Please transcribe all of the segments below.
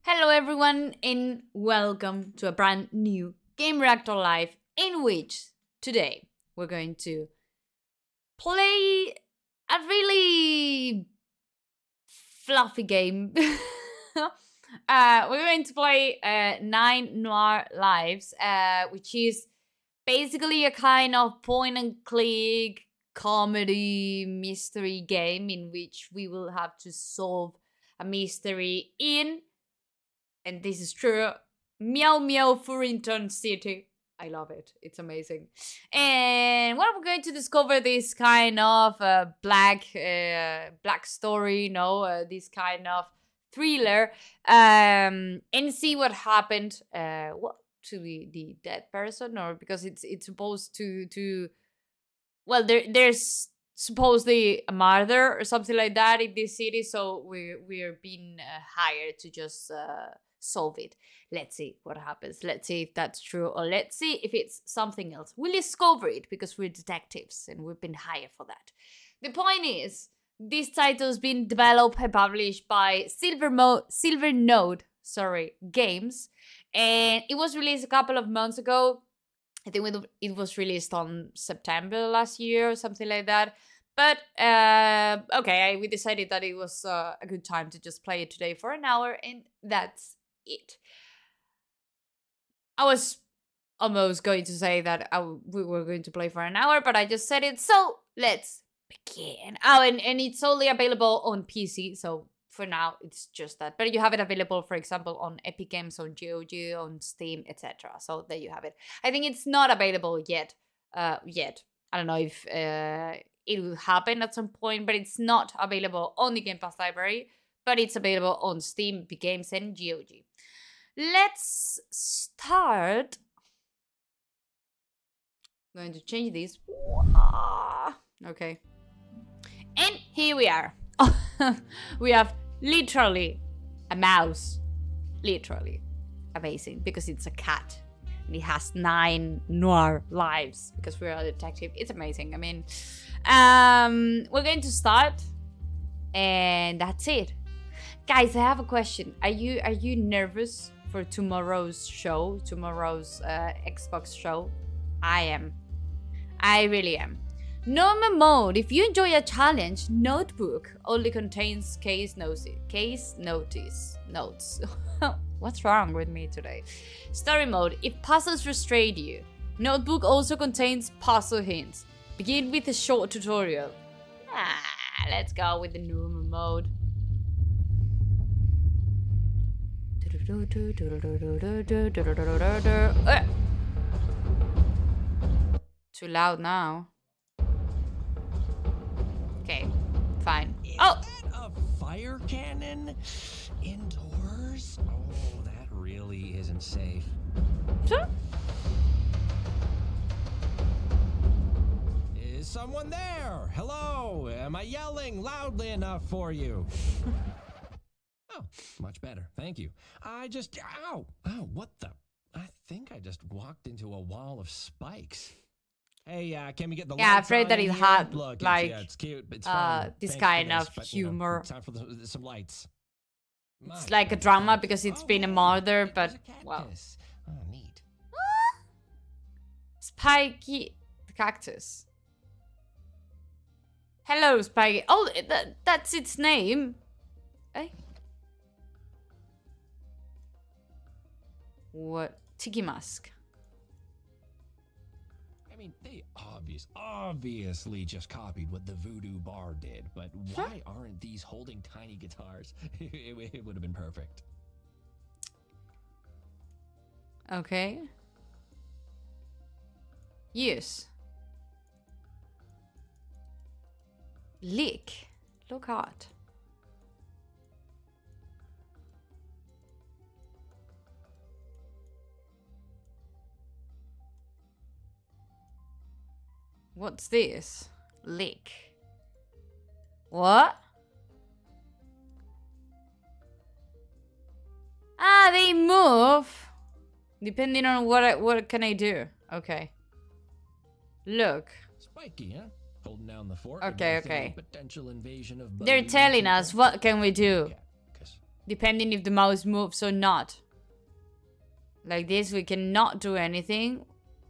Hello everyone and welcome to a brand new Game Reactor Live in which today we're going to play a really fluffy game. We're going to play 9 Noir Lives, which is basically a kind of point and click comedy mystery game in which we will have to solve a mystery in, and this is true, Meow Meow Furrington City. I love it. It's amazing. And well, we're going to discover this kind of black story, this kind of thriller, and see what happened. What to the dead person, or because it's supposed to well, there's supposedly a murder or something like that in this city, so we're being hired to just solve it. Let's see what happens. Let's see if that's true, or let's see if it's something else. We'll discover it because we're detectives and we've been hired for that. The point is, this title's been developed and published by Silvernote Games, and it was released a couple of months ago. I think it was released on September last year or something like that. But okay, we decided that it was a good time to just play it today for an hour, and that's it. I was almost going to say that we were going to play for an hour, but I just said it, so let's begin. Oh, and it's only available on PC, so for now it's just that. But you have it available, for example, on Epic Games, on GOG, on Steam, etc. So there you have it. I think it's not available yet. I don't know if it will happen at some point, but it's not available on the Game Pass library, but it's available on Steam, Epic Games, and GOG. Let's start. I'm going to change this. Okay. And here we are. We have literally a mouse. Literally. Amazing. Because it's a cat. And it has 9 noir lives. Because we're a detective. It's amazing. I mean, we're going to start. And that's it. Guys, I have a question. Are you nervous for tomorrow's show? Tomorrow's Xbox show? I am. I really am. Normal mode. If you enjoy a challenge, notebook only contains case notes. What's wrong with me today? Story mode. If puzzles frustrate you, notebook also contains puzzle hints. Begin with a short tutorial. Let's go with the normal mode. Too loud now. Okay, fine. Is that a fire cannon indoors? Oh, that really isn't safe. Sure. Is someone there? Hello? Am I yelling loudly enough for you? Oh, much better. Thank you. Ow, what the? I think I just walked into a wall of spikes. Hey, can we get the lights I'm afraid on that in it here? had Look, like it's cute, but it's fine. this Thanks kind for this, of but, humor. time for some lights. It's like a drama because it's been a murder, but well. Oh, neat. Spiky the cactus. Hello, Spiky. Oh, that's its name. Eh? What? Tiki Mask. I mean, they obviously just copied what the Voodoo Bar did, but why aren't these holding tiny guitars? It would have been perfect. Okay. Yes. Lick. Look hot. What's this? Lick. What? Ah, they move. Depending on what can I do? Okay. Look. Spiky, huh? Holding down the fort. Okay, okay. Potential invasion of They're telling us what can we do. depending if the mouse moves or not. Like this, we cannot do anything.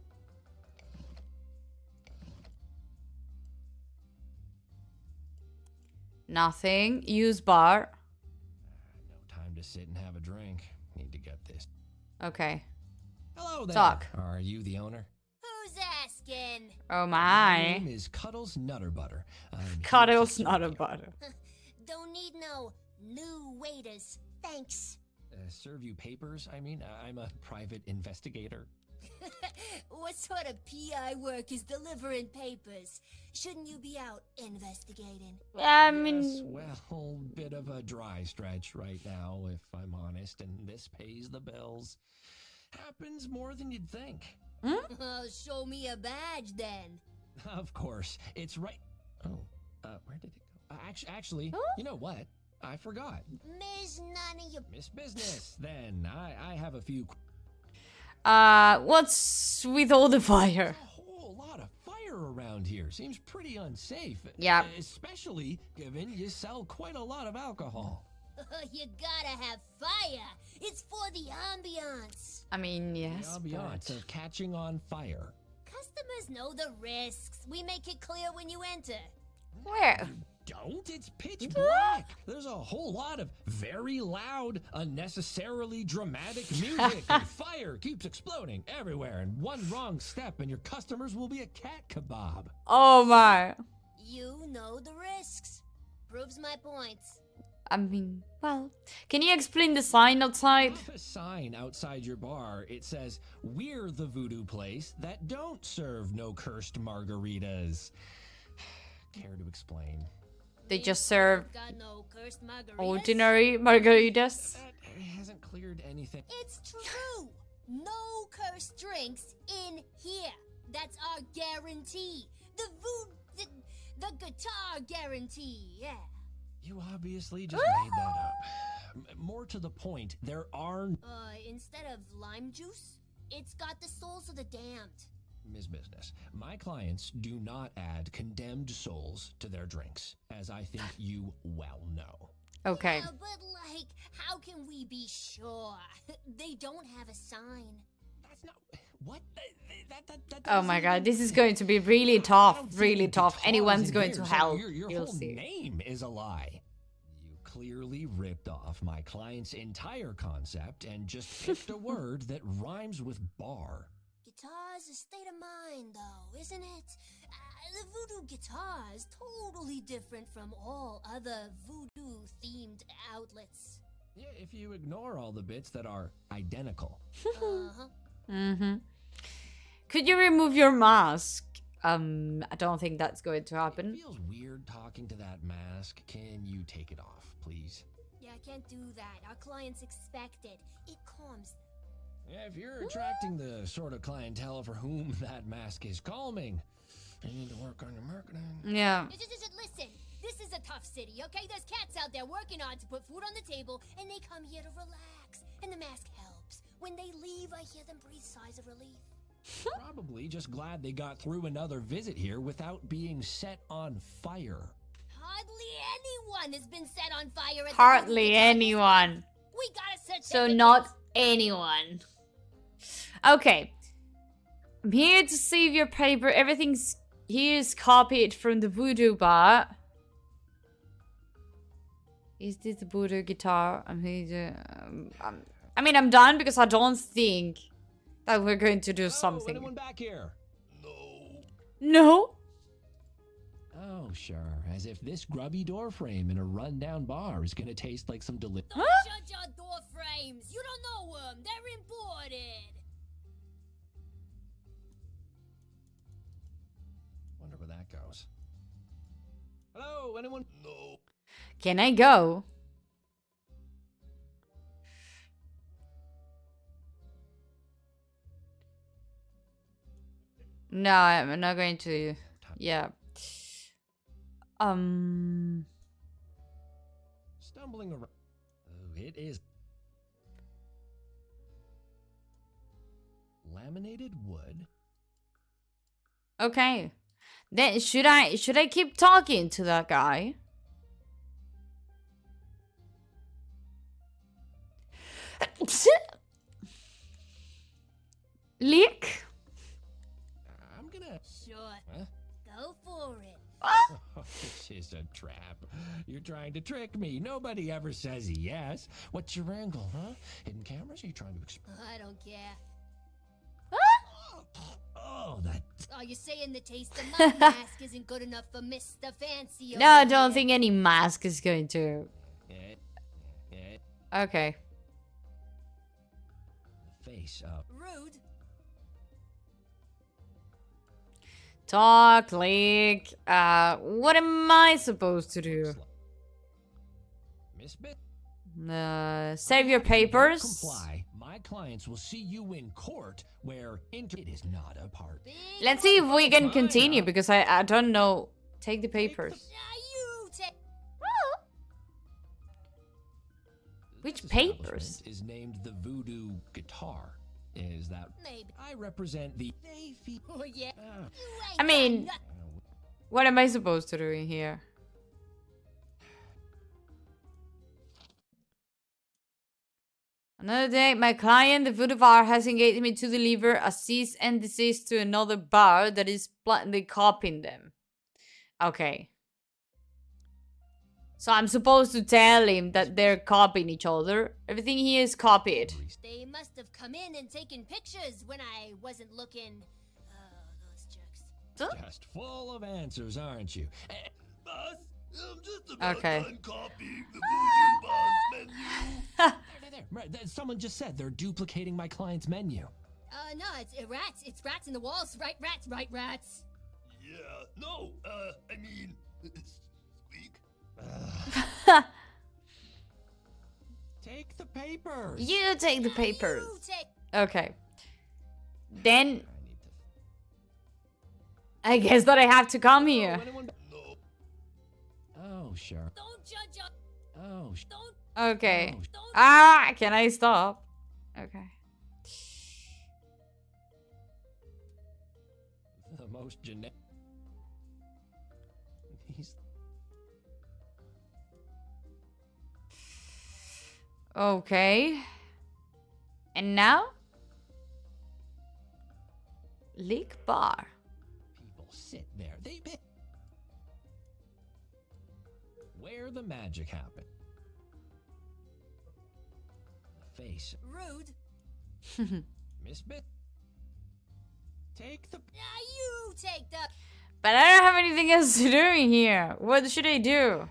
Nothing. Use bar. No time to sit and have a drink. Need to get this. Okay. Hello there. Talk. Are you the owner? Who's asking? Oh My name my. is Cuddles Nutter Butter. I'm here to Cuddles serve not a you. butter. Don't need no new waiters. Thanks. Serve you papers? I mean, I'm a private investigator. What sort of PI work is delivering papers? Shouldn't you be out investigating? I Yes, mean, well, bit of a dry stretch right now, if I'm honest, and this pays the bills. Happens more than you'd think. Oh, show me a badge then. Of course, it's right. Oh, where did it go? Actually, you know what? I forgot. Miss none of your... Miss Business. Then I have a few. what's with all the fire? A whole lot of fire around here. Seems pretty unsafe. Yeah. Especially given you sell quite a lot of alcohol. You gotta have fire. It's for the ambiance. I mean, yes, The ambiance but... of catching on fire. Customers know the risks. We make it clear when you enter. Where? Don't. It's pitch black. There's a whole lot of very loud, unnecessarily dramatic music, and fire keeps exploding everywhere. And one wrong step, and your customers will be a cat kebab. Oh my. You know the risks. Proves my points. I mean, well, can you explain the sign outside? Up a sign outside your bar. It says, "We're the voodoo place that don't serve no cursed margaritas." Care to explain? They just serve Got no cursed margaritas. ordinary margaritas. That hasn't cleared anything. It's true. No cursed drinks in here. That's our guarantee. The guitar guarantee. Yeah. You obviously just made that up. More to the point, there are Instead of lime juice, it's got the souls of the damned. Ms. Business. My clients do not add condemned souls to their drinks, as I think you well know. Okay. Yeah, but like, how can we be sure? They don't have a sign. That's not what. That Oh my doesn't god, even- this is going to be really I tough. don't see Really any tough. guitars Anyone's in going here, to so help. Your You'll whole see. name is a lie. You clearly ripped off my client's entire concept and just picked a word that rhymes with bar. Guitar's a state of mind, though, isn't it? The voodoo guitar is totally different from all other voodoo-themed outlets. Yeah, if you ignore all the bits that are identical. Uh-huh. Mm-hmm. Could you remove your mask? I don't think that's going to It happen. feels weird talking to that mask. Can you take it off, please? Yeah, I can't do that. Our clients expect it. It calms. Yeah, if you're attracting the sort of clientele for whom that mask is calming, you need to work on your marketing. Yeah. Listen, this is a tough city, okay? There's cats out there working hard to put food on the table, and they come here to relax. And the mask helps. When they leave, I hear them breathe sighs of relief. Probably just glad they got through another visit here without being set on fire. Hardly anyone has been set on fire at the Hardly voodoo guitar. anyone. We gotta search So everything. not anyone. Okay. I'm here to save your paper. Everything's here's copied from the voodoo bar. Is this the voodoo guitar? I'm here to, I mean, I'm done because I don't think that we're going to do Oh, something. anyone back here? No? Oh, sure. As if this grubby door frame in a rundown bar is gonna taste like some delicious. Don't judge our door frames. You don't know them. They're imported. Wonder where that goes. Hello, anyone? No. Can I go? No, I'm not going to. Yeah. Stumbling around. Oh, it is. Laminated wood. Okay. Then should I keep talking to that guy? Leak? I'm gonna... Sure. Huh? Go for it. Oh, this is a trap. You're trying to trick me. Nobody ever says yes. What's your angle, huh? Hidden cameras? Are you trying to explain? I don't care. Oh, that... Are you saying the taste of my mask isn't good enough for Mr. Fancy? No, I over don't here? think any mask is going to. Yeah. Okay. Face up. Rude. Talk, Leak. What am I supposed to do? Miss Bit. Save your papers. Comply. My clients will see you in court where it is not a part. Big Let's see if we can Fine, continue huh? because I don't know. Take the papers. You take. Which This papers? establishment is named the Voodoo Guitar. Is that... Maybe. I represent the... Oh yeah. Ah, You I ain't got mean- nothing. What am I supposed to do in here? Another day, my client, the voodoo bar, has engaged me to deliver a cease and desist to another bar that is blatantly copying them. Okay. So I'm supposed to tell him that they're copying each other. Everything here is copied. They must have come in and taken pictures when I wasn't looking. Oh, those jerks. just full of answers, aren't you? Boss, I'm just about Okay. done copying the Voodoo Boss menu. There. Right, someone just said they're duplicating my client's menu. No, it's rats. It's rats in the walls. Right, rats. Right, rats. Yeah, no, I mean, squeak. Take the papers. You take the papers. You take. Okay. Then I need to... I guess that I have to come here. Anyone... No, Oh, sure. Don't judge us. Oh, Don't. Okay. Oh, Don't. Ah, can I stop? Okay. the most generic... He's... Okay. And now? Leak bar. People sit there. They... Where the magic happened. Face. Rude. Miss Bit. Take the... You take the. But I don't have anything else to do in here. What should I do?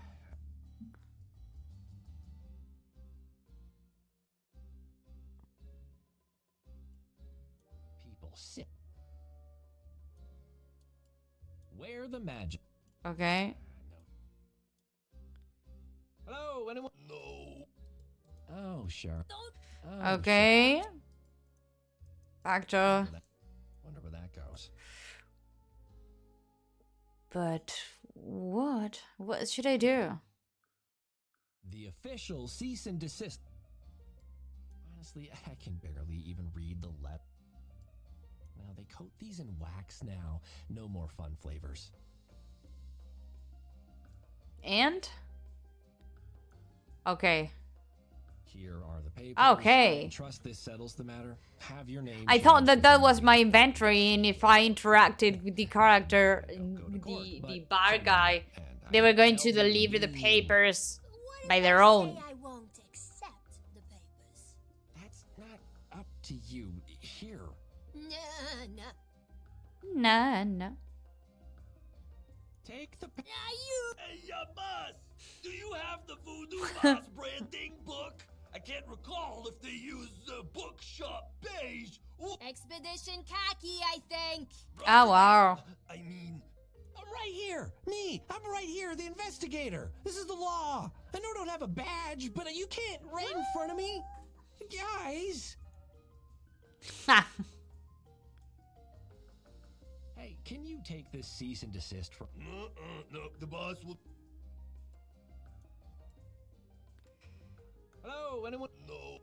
People sit. Where the magic... Okay. Hello, anyone? no. Oh, sure. Don't. Oh, Okay. Back to... Sure. Wonder where that goes. But what? What should I do? The official cease and desist. Honestly, I can barely even read the letter. Now they coat these in wax now. No more fun flavors. And? Okay. Here are the papers. Okay. Trust this settles the matter. Have your name. I thought changed that that within was the- my inventory, and if I interacted with the character, Go to court, the but bar someone- guy, and they I were going to tell deliver the you, papers What by if their I own. say I won't accept the papers? That's not up to you. Here. Nah. Nah, no. Take the... You. Hey, boss, do you have the Voodoo Boss branding book? I can't recall if they use Bookshop Beige or... Expedition khaki, I think. Oh, wow. I mean, I'm right here. Me. I'm right here, the investigator. This is the law. I know I don't have a badge, but you can't right in front of me. Guys. Ha. Hey, can you take this cease and desist from... no, the boss will... Hello, anyone? No.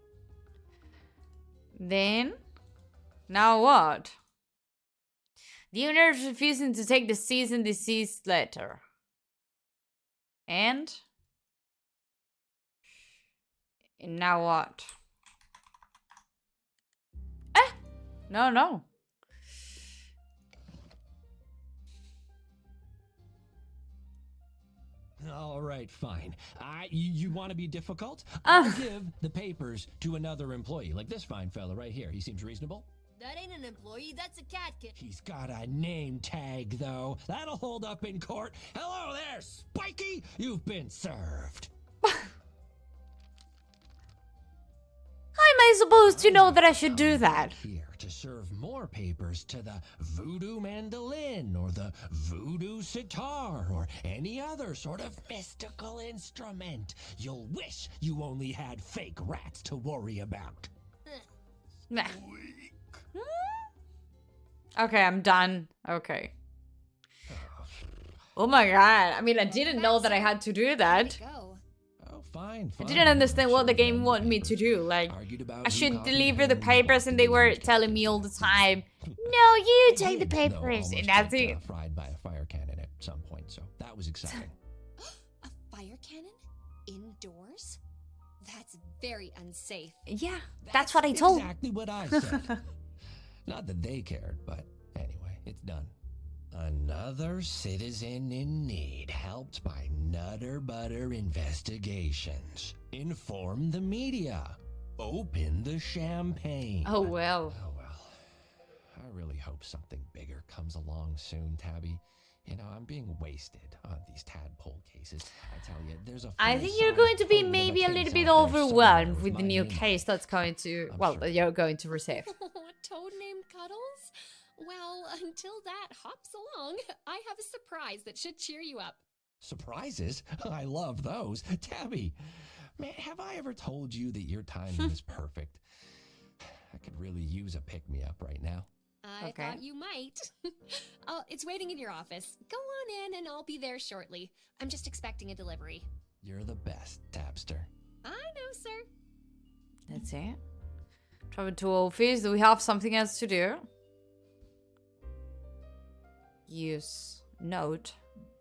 Then, now what? The owner is refusing to take the cease and desist letter. And now what? No, no. All right, fine. You want to be difficult? Ah. I'll give the papers to another employee, like this fine fella right here. He seems reasonable. That ain't an employee, that's a cat kid. He's got a name tag, though. That'll hold up in court. Hello there, Spiky! You've been served. How am I supposed to know that I should do that? Here to serve more papers to the voodoo mandolin or the voodoo sitar or any other sort of mystical instrument. You'll wish you only had fake rats to worry about. Nah. Okay, I'm done. Okay. Oh my god. I mean, I didn't know that I had to do that. Go. Oh, fine. I didn't understand what the game wanted me to do. Like, I should deliver the papers, and they were telling me all the time, no, you take the papers, and that's it. Fried by a fire cannon at some point, so that was exciting. A fire cannon? Indoors? That's very unsafe. Yeah, that's what I told. Exactly what I said. Not that they cared, but anyway, it's done. Another citizen in need, helped by Nutter Butter Investigations. Inform the media. Open the champagne. Oh well. Oh well. I really hope something bigger comes along soon, Tabby. You know, I'm being wasted on these tadpole cases. I tell you, there's a I think you're going to be maybe a little bit overwhelmed with the new case that's going to, well, that you're going to receive. A toad named Cuddles? Well, until that hops along, I have a surprise that should cheer you up. Surprises? I love those. Tabby, man, have I ever told you that your timing is perfect? I could really use a pick-me-up right now. I Okay. thought you might. It's waiting in your office. Go on in and I'll be there shortly. I'm just expecting a delivery. You're the best, Tabster. I know, sir. That's it. Travel to office. Do we have something else to do? Use note.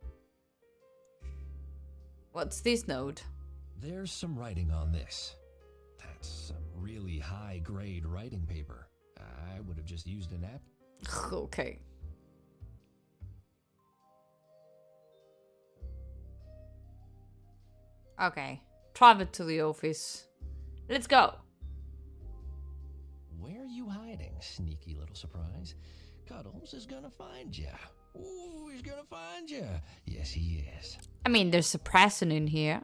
What's this note? There's some writing on this. That's some really high-grade writing paper. I would have just used an app. Okay. Okay. Travel to the office. Let's go. Where are you hiding, sneaky little surprise? Cuddles is gonna find ya. Ooh, he's gonna find ya. Yes, he is. I mean, there's a present in here.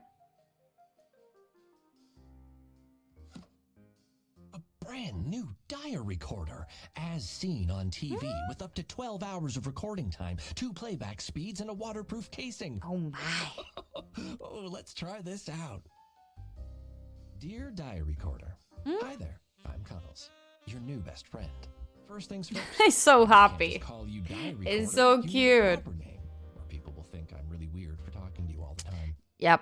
A brand new diary recorder, as seen on TV, with up to 12 hours of recording time, 2 playback speeds, and a waterproof casing. Oh my. Oh, let's try this out. Dear diary recorder, hi there. I'm Cuddles, your new best friend. First things first. He's so I can't happy. just call you diary recorder. It's so You need a cute. proper name, or people will think I'm really weird for talking to you all the time. Yep.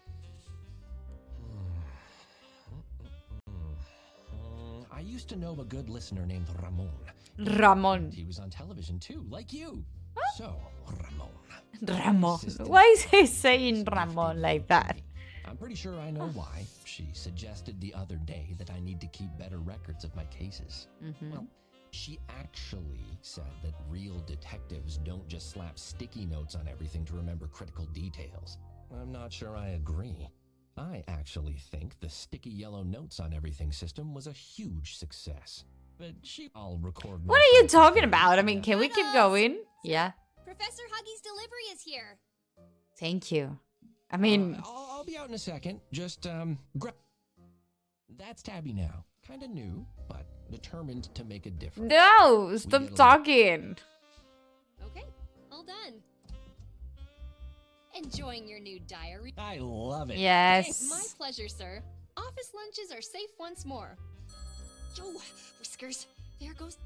I used to know a good listener named Ramon. Ramon. He was on television too, like you. So, Ramon. Ramon. Assistant. Why is he saying Ramon like that? I'm pretty sure I know why. She suggested the other day that I need to keep better records of my cases. Well, she actually said that real detectives don't just slap sticky notes on everything to remember critical details. I'm not sure I agree. I actually think the sticky yellow notes on everything system was a huge success. But I'll record. What are you talking about? I mean, can we keep going? Yeah. Professor Huggy's delivery is here. Thank you. I mean, I'll be out in a second. Just That's Tabby now. Kind of new, but determined to make a difference. no, get stop along. talking. Okay, all done. Enjoying your new diary? I love it. Yes. My pleasure, sir. Office lunches are safe once more. Yo, Whiskers, there goes.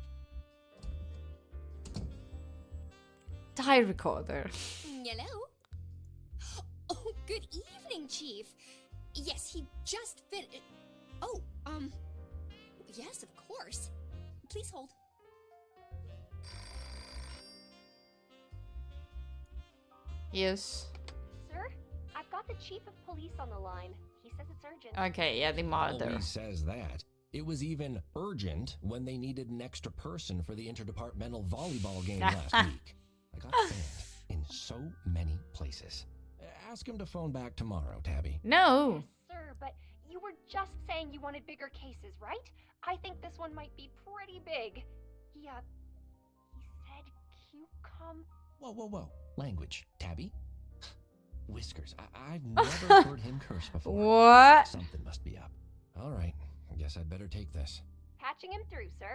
Diary recorder. Hello? Oh, good evening, Chief. Yes, he just finished. Oh, yes, of course. Please hold. Yes. Sir, I've got the chief of police on the line. He says it's urgent. Okay, yeah, the mother. Always says that. It was even urgent when they needed an extra person for the interdepartmental volleyball game last week. I got banned in so many places. Ask him to phone back tomorrow, Tabby. No. Sir, but you were just saying you wanted bigger cases, right? I think this one might be pretty big. He said cucumber. Whoa. Language, Tabby. Whiskers. I've never heard him curse before. What? Something must be up. All right. I guess I'd better take this. Patching him through, sir.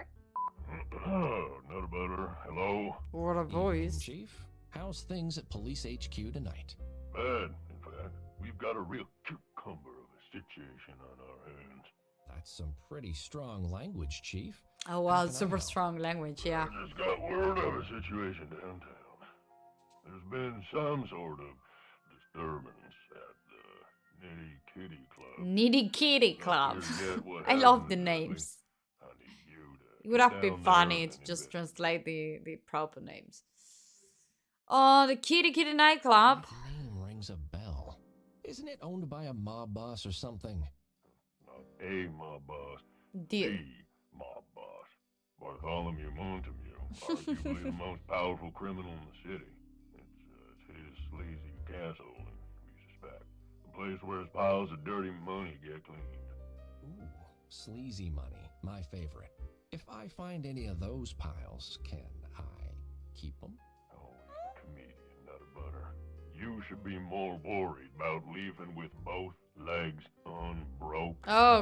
Not better. Hello? What a Evening, voice. Chief. How's things at Police HQ tonight? Bad, in fact. We've got a real cucumber of a situation on our hands. That's some pretty strong language, Chief. Oh, well, How can I super help? strong language, yeah. I just got word of a situation downtown. There's been some sort of disturbance at the Nitty Kitty Club. Nitty Kitty Not Club. sure yet what I love happened the exactly. names. I need you to It would get have been down there funny and to just investigate. translate the proper names. Oh, the Kitty Kitty nightclub. The name rings a bell. Isn't it owned by a mob boss or something? Not a mob boss, The the mob boss. Bartholomew Montague, arguably the most powerful criminal in the city. It's his sleazy castle, and we suspect the place where his piles of dirty money get cleaned. Ooh, sleazy money. My favorite. If I find any of those piles, can I keep them? Oh, he's a comedian, not a butter. You should be more worried about leaving with both legs unbroken.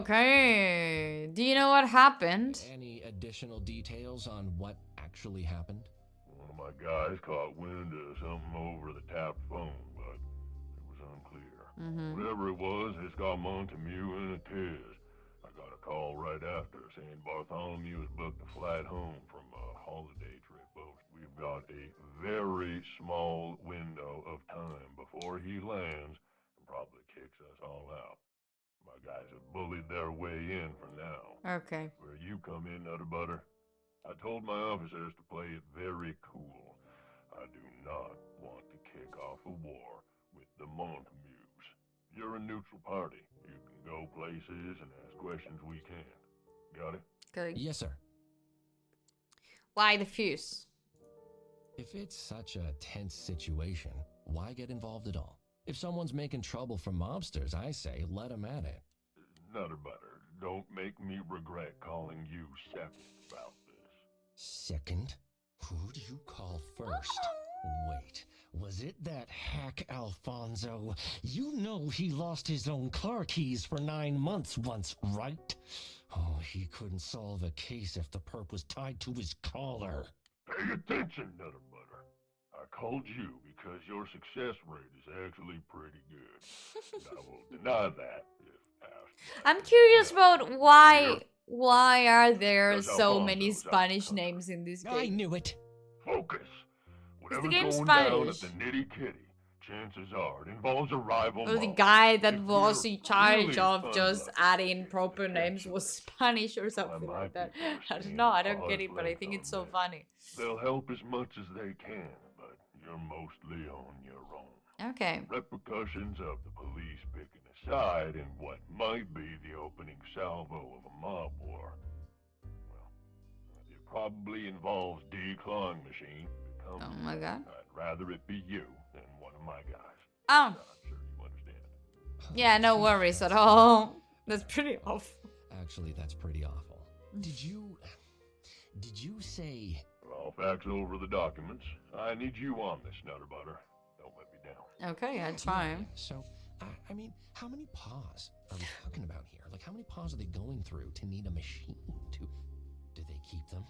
Okay. Do you know what happened? Any additional details on what actually happened? One of my guys caught wind of something over the tapped phone, but it was unclear. Mm-hmm. Whatever it was, it's got Montague in a tiz. I got a call right after saying Bartholomew has booked a flight home from a holiday trip. But we've got a very small window of time before he lands and probably kicks us all out. My guys have bullied their way in for now. Okay. Where you come in, Nutter Butter, I told my officers to play it very cool. I do not want to kick off a war with the Montagues. You're a neutral party. You can go places and ask questions we can. Got it? Good. Yes, sir. Why the fuse? If it's such a tense situation, why get involved at all? If someone's making trouble for mobsters, I say let them at it. Nutter Butter, don't make me regret calling you second about this. Second? Who do you call first? Wait, was it that hack Alfonso? You know he lost his own car keys for 9 months once, right? Oh, he couldn't solve a case if the perp was tied to his collar. Pay attention, Nutter Butter. I called you because your success rate is actually pretty good. And I will deny that if asked. by I'm curious anyone about else. why are there Because so Alfonso's many out Spanish of names in this I game? knew it. Focus. Whatever's game going down at Spanish? the Nitty Kitty, chances are it involves a rival Or the mob. guy that If was we're in charge really of just unlucky, adding proper we could names catch was them. Spanish or I something might like that. be I don't foreseeing know, I don't get hard it, but I flex think on it's so that. funny. They'll help as much as they can, but you're mostly on your own. Okay. Repercussions of the police picking a side in what might be the opening salvo of a mob war. Well, it probably involves declawing machine. If it comes Oh to my that, god. I'd rather it be you than one of my guys. Oh, I'm sure you understand. yeah, no worries at all. That's pretty awful. Actually, that's pretty awful. Did you say... I'll fax over the documents. I need you on this, Nutter Butter. Don't let me down. Okay, I try. So, I mean, how many paws are we talking about here? Like, how many paws are they going through to need a machine to... Do they keep them?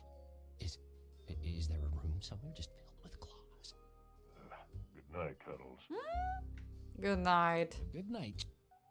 Is there a room somewhere just filled with claws? Good night, Cuddles. Good night. Good night.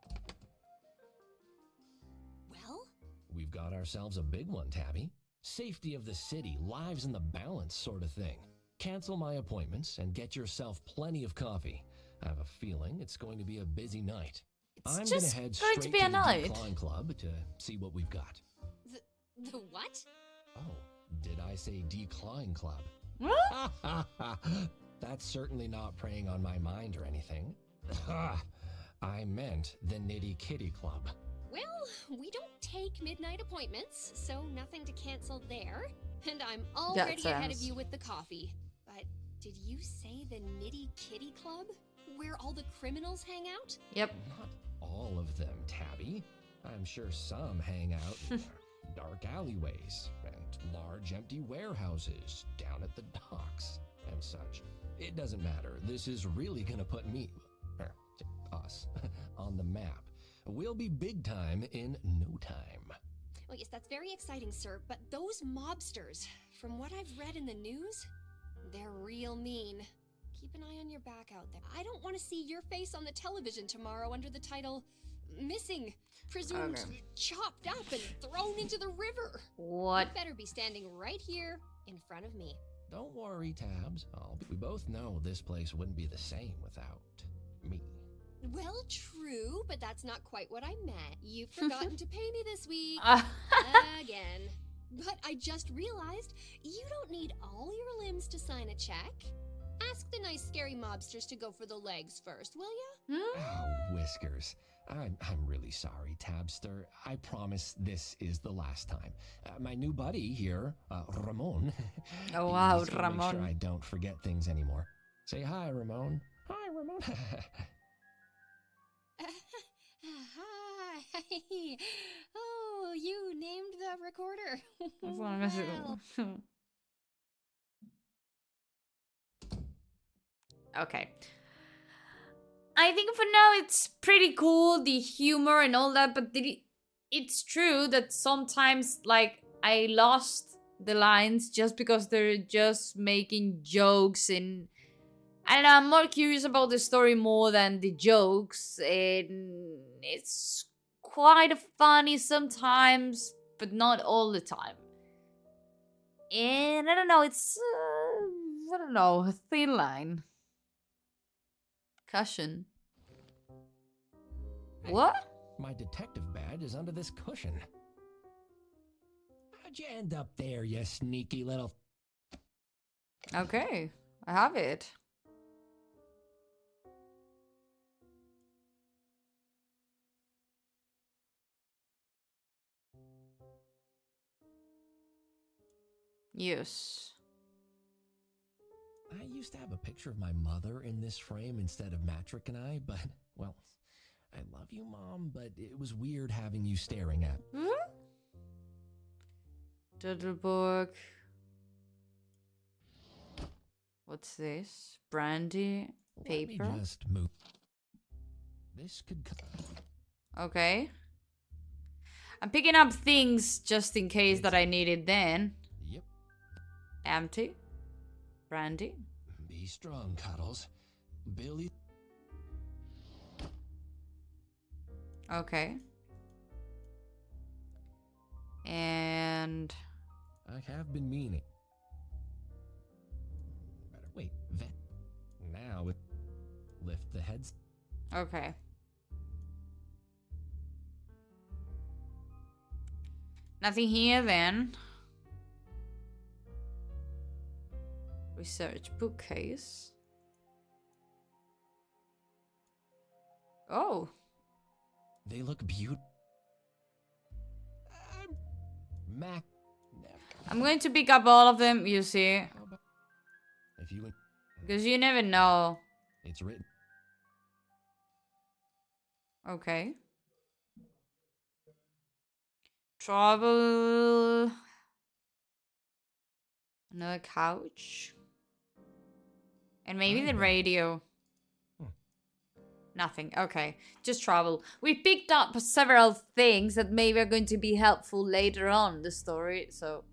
Well, We've got ourselves a big one, Tabby. Safety of the city, lives in the balance sort of thing. Cancel my appointments and get yourself plenty of coffee. I have a feeling it's going to be a busy night. It's I'm just gonna head going straight to be a the night. Decline Club to see what we've got. the what? Oh, did I say Decline Club? What? That's certainly not preying on my mind or anything. I meant the Nitty Kitty Club. Well, we don't take midnight appointments, so nothing to cancel there. And I'm already ahead of sense. you with the coffee. But did you say the Nitty Kitty Club? Where all the criminals hang out? Yep. Not all of them, Tabby. I'm sure some hang out in dark alleyways and large empty warehouses down at the docks and such. It doesn't matter. This is really gonna put me, or us, on the map. We'll be big time in no time. Oh, yes, that's very exciting, sir. But those mobsters, from what I've read in the news, they're real mean. Keep an eye on your back out there. I don't want to see your face on the television tomorrow under the title Missing, Presumed Okay. Chopped Up and Thrown into the River. What? You better be standing right here in front of me. Don't worry, Tabs. We both know this place wouldn't be the same without me. Well, true, but that's not quite what I meant. You've forgotten to pay me this week. Again. But I just realized you don't need all your limbs to sign a check. Ask the nice scary mobsters to go for the legs first, will ya? Oh, Whiskers. I'm really sorry, Tabster. I promise this is the last time. My new buddy here, Ramon. Oh, wow, he's gonna make Ramon. sure I don't forget things anymore. Say hi, Ramon. Hi, Ramon. Hi. Oh, you named the recorder. That's what I miss it. Well, Okay. I think for now it's pretty cool, the humor and all that, but it's true that sometimes, like, I lost the lines just because they're just making jokes, and I don't know, I'm more curious about the story more than the jokes, and it's quite funny sometimes, but not all the time. And I don't know, it's, I don't know, a thin line. Cushion. What? My detective badge is under this cushion. How'd you end up there, you sneaky little... Okay, I have it. Yes. I used to have a picture of my mother in this frame instead of Matrick and I, but, well, I love you, Mom, but it was weird having you staring at. Doodlebook. What's this? Brandy paper. Let me just move. This could... Okay. I'm picking up things just in case that I need it then. Yep. Empty. Brandy. Be strong, Cuddles. Billy... Okay. And... I have been meaning. Better wait, vet. Now it... Lift the heads. Okay. Nothing here then. Research bookcase. Oh. They look beautiful. Mac... I'm going to pick up all of them, you see. If you... Because you never know. It's written. Okay. Travel. Another couch. And maybe the radio. Nothing. Okay. Just travel. We picked up several things that maybe are going to be helpful later on in the story, so.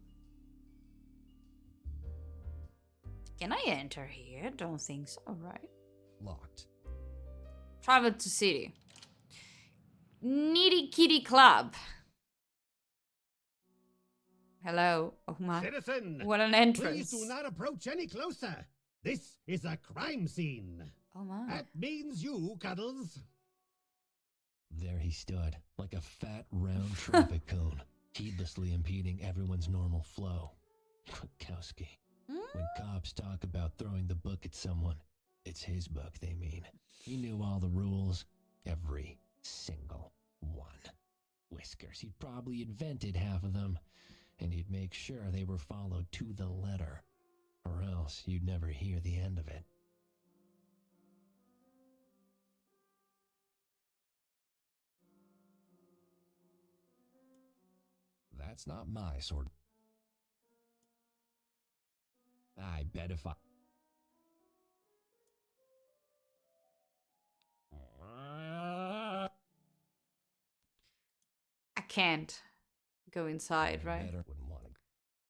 Can I enter here? Don't think so, right? Locked. Travel to city. Nitty Kitty Club. Hello. Oh my. Citizen! What an entrance. Please do not approach any closer. This is a crime scene. Oh my. That means you, Cuddles. There he stood, like a fat, round traffic cone, heedlessly impeding everyone's normal flow. Kwiatkowski. When cops talk about throwing the book at someone, it's his book they mean. He knew all the rules, every single one. Whiskers, he'd probably invented half of them, and he'd make sure they were followed to the letter, or else you'd never hear the end of it. That's not my sword. I bet if I... I can't go inside, right? Wouldn't want to.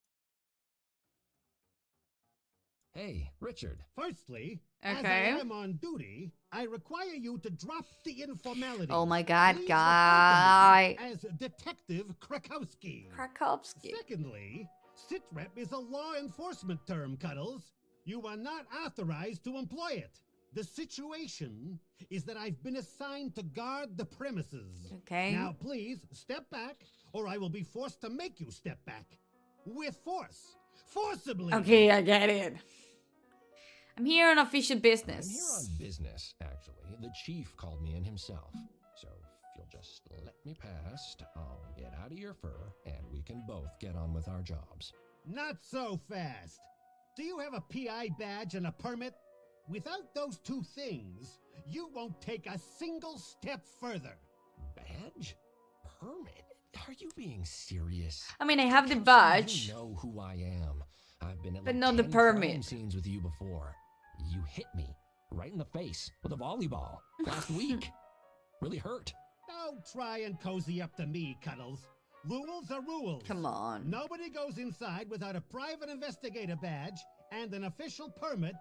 Hey, Richard. Firstly, Okay. as I am on duty, I require you to drop the informality. Oh my god, Please guy. refer to me as Detective Krakowski. Krakowski. Secondly, sitrep is a law enforcement term, Cuddles. You are not authorized to employ it. The situation is that I've been assigned to guard the premises. Okay. Now, please, step back, or I will be forced to make you step back. With force. Forcibly. Okay, I get it. I'm here on official I'm business. here on business, actually. The chief called me in himself. So if you'll just let me past, I'll get out of your fur, and we can both get on with our jobs. Not so fast. Do you have a PI badge and a permit? Without those two things, you won't take a single step further. Badge? Permit? Are you being serious? I mean, I have the How should badge. You know who I am. I've been at But like not the 10 crime permit. scenes with you before. You hit me right in the face with a volleyball last week. Really hurt. Don't try and cozy up to me, Cuddles. Rules are rules. Come on. Nobody goes inside without a private investigator badge and an official permit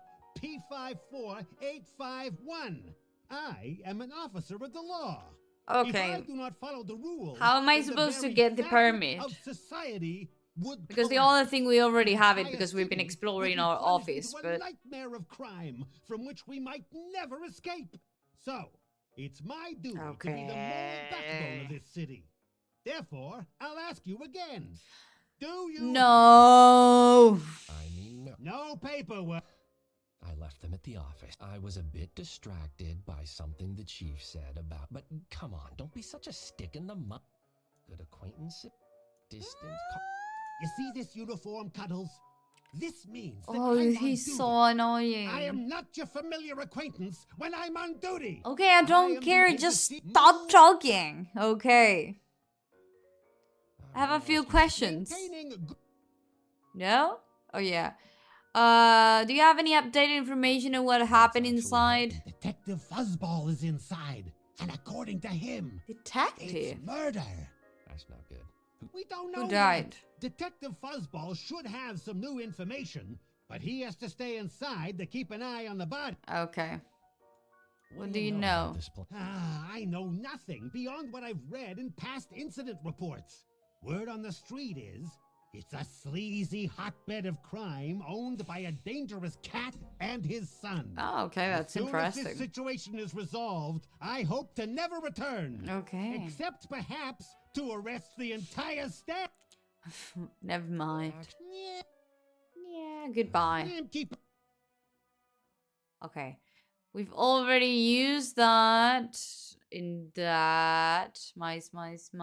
P54851. I am an officer of the law. If I Okay. do not follow the rules, How am I then the supposed to very get the fabric permit? Of society would Because the collapse. only thing we already have it Entire because we've been city exploring would be our plunged office, into a but nightmare of crime from which we might never escape. So, it's my duty to be the moral backbone of this city. Therefore, I'll ask you again. Do you no. I mean, no. no paperwork? I left them at the office. I was a bit distracted by something the chief said about... But come on, don't be such a stick in the mud. Good acquaintance, distant... You see this uniform, Cuddles? This means that Oh, I'm on he's duty. so annoying. I am not your familiar acquaintance when I'm on duty. Okay, I don't am care. the Just entity- stop talking. Okay. I have a few questions. Maintaining No? Oh, yeah. Do you have any updated information on what happened inside? Detective Fuzzball is inside, and according to him, Detective? it's murder. That's not good. We don't know Who died? yet. Detective Fuzzball should have some new information, but he has to stay inside to keep an eye on the body. Okay. What do you about know? this pl- I know nothing beyond what I've read in past incident reports. Word on the street is, it's a sleazy hotbed of crime owned by a dangerous cat and his son. Oh, okay, that's As soon as this interesting. situation is resolved, I hope to never return. Okay. Except perhaps to arrest the entire staff. Never mind. Yeah, Yeah, goodbye. keep. Okay. We've already used that in that. Mice.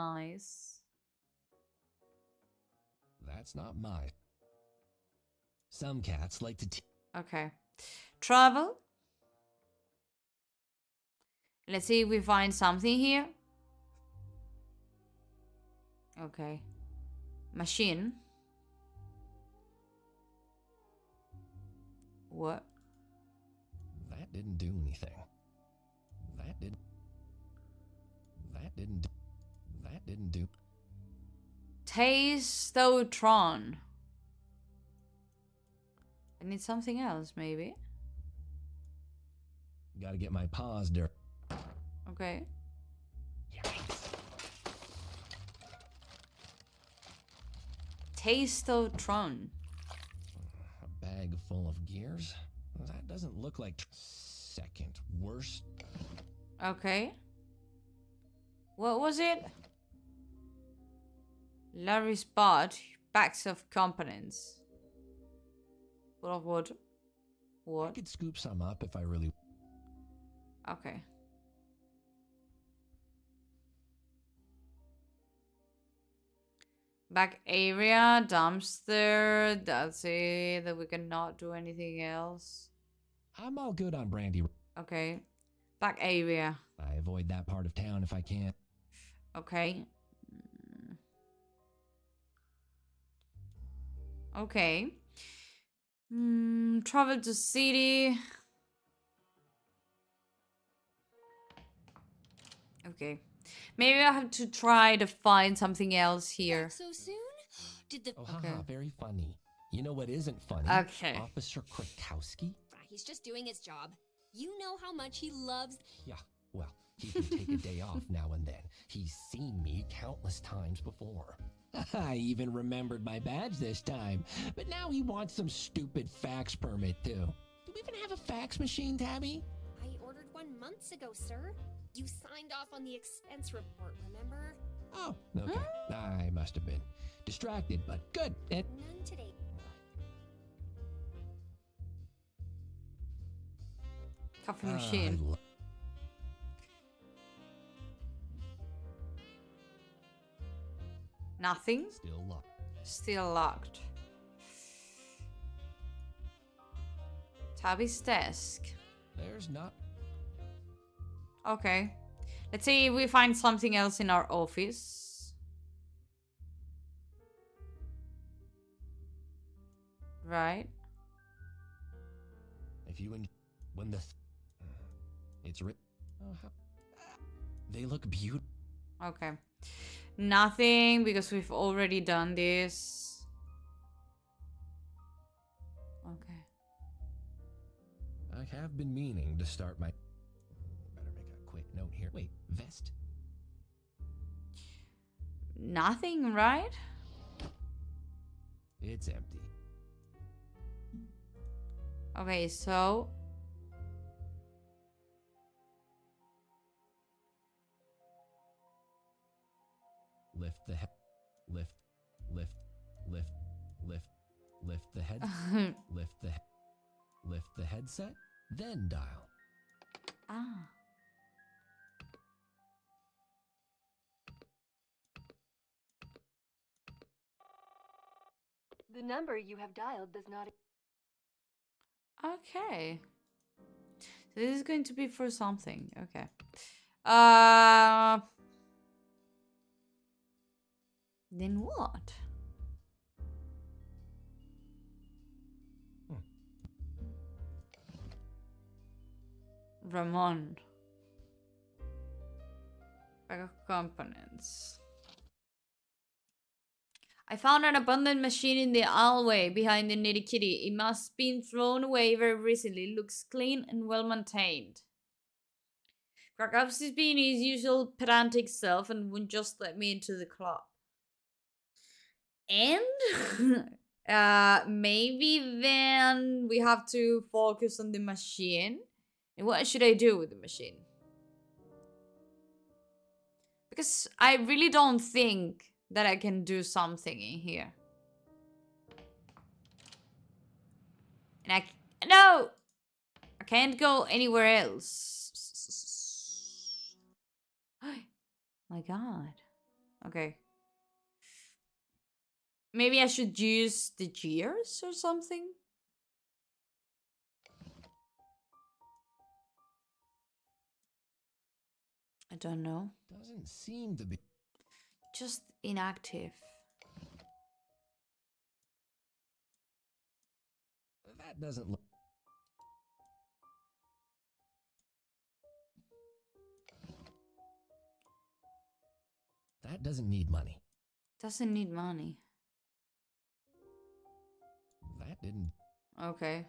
That's not my... Some cats like to... Okay. Travel. Let's see if we find something here. Okay. Machine. What? That didn't do anything. That didn't do... Tastotron. I need something else, maybe. Gotta get my paws dirty. Okay. Tastotron. A bag full of gears? That doesn't look like... Second worst. Okay. What was it? Larry Spot. Bags of components. Full of what? I What? could scoop some up if I really... Okay. Back area, dumpster. That's it. That we cannot do anything else. I'm all good on Brandy. Okay. Back area. I avoid that part of town if I can. Okay. Okay. Travel to city. Okay. Maybe I have to try to find something else here. Back so soon? Did the Oh, Okay. haha, very funny. You know what isn't funny? Okay. Officer Krakowski? He's just doing his job. You know how much he loves. Yeah, well, he can take a day off now and then. He's seen me countless times before. I even remembered my badge this time. But now he wants some stupid fax permit, too. Do we even have a fax machine, Tabby? I ordered one months ago, sir. You signed off on the expense report, remember? Oh, okay. I must have been distracted, but good. None today. Coffee machine. Nothing. Still locked. Still locked. Tabby's desk. There's not. Okay. Let's see if we find something else in our office. Right. If you when the it's written. Oh, they look beautiful. Okay. Nothing because we've already done this. Okay. I have been meaning to start my. Better make a quick note here. Wait, vest? Nothing, right? It's empty. Okay, so Lift the head. Lift the head. Lift the headset. Then dial. ah. The number you have dialed does not. Okay. So this is going to be for something. Okay. Then what? Ramon. Bag of components. I found an abandoned machine in the alleyway behind the Nitty Kitty. It must have been thrown away very recently. It looks clean and well maintained. Krakowski's being his usual pedantic self and wouldn't just let me into the club. And maybe then we have to focus on the machine. And what should I do with the machine? Because I really don't think that I can do something in here. And no! I can't go anywhere else. My god. Okay. Maybe I should use the gears or something? I don't know. Doesn't seem to be. Just inactive. That doesn't look. That doesn't need money. Doesn't need money. That didn't. Okay.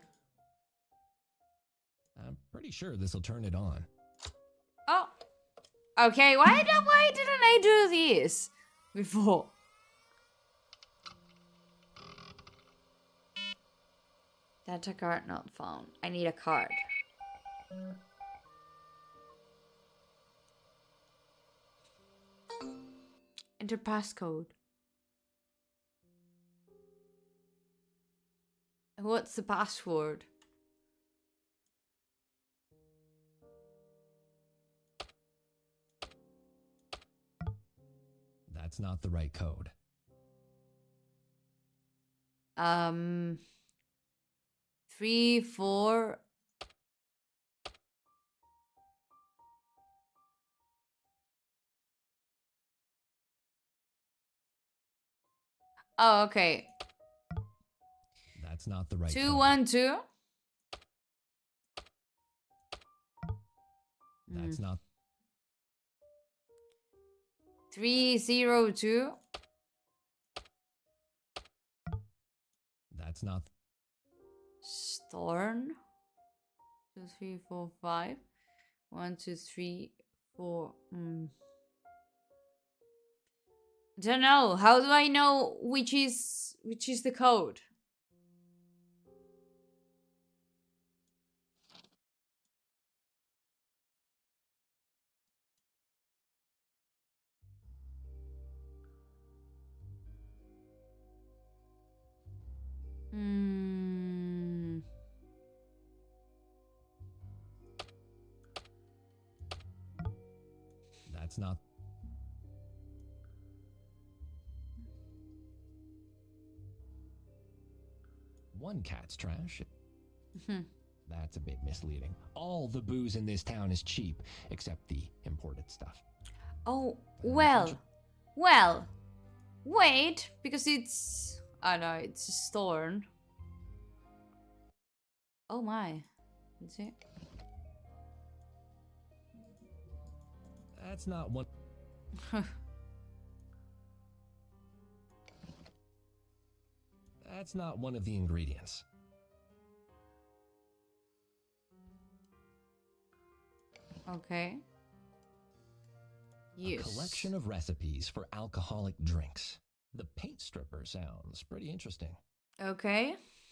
I'm pretty sure this will turn it on. Oh. Okay, why didn't I do this before? Data card not found. I need a card. Enter passcode. What's the password? That's not the right code. 3, 4. Oh, okay. That's not the right 2, code. 1, 2. That's not. 3, 0, 2. That's not. Storm. 2, 3, 4, 5. 1, 2, 3, 4. Don't know. How do I know which is the code? That's not. One cat's trash. That's a bit misleading. All the booze in this town is cheap, except the imported stuff. Oh, well, wait, because it's, I know, it's a storm. Oh my, is it? That's not one. That's not one of the ingredients. Okay. Yes. A collection of recipes for alcoholic drinks. The paint stripper sounds pretty interesting. Okay.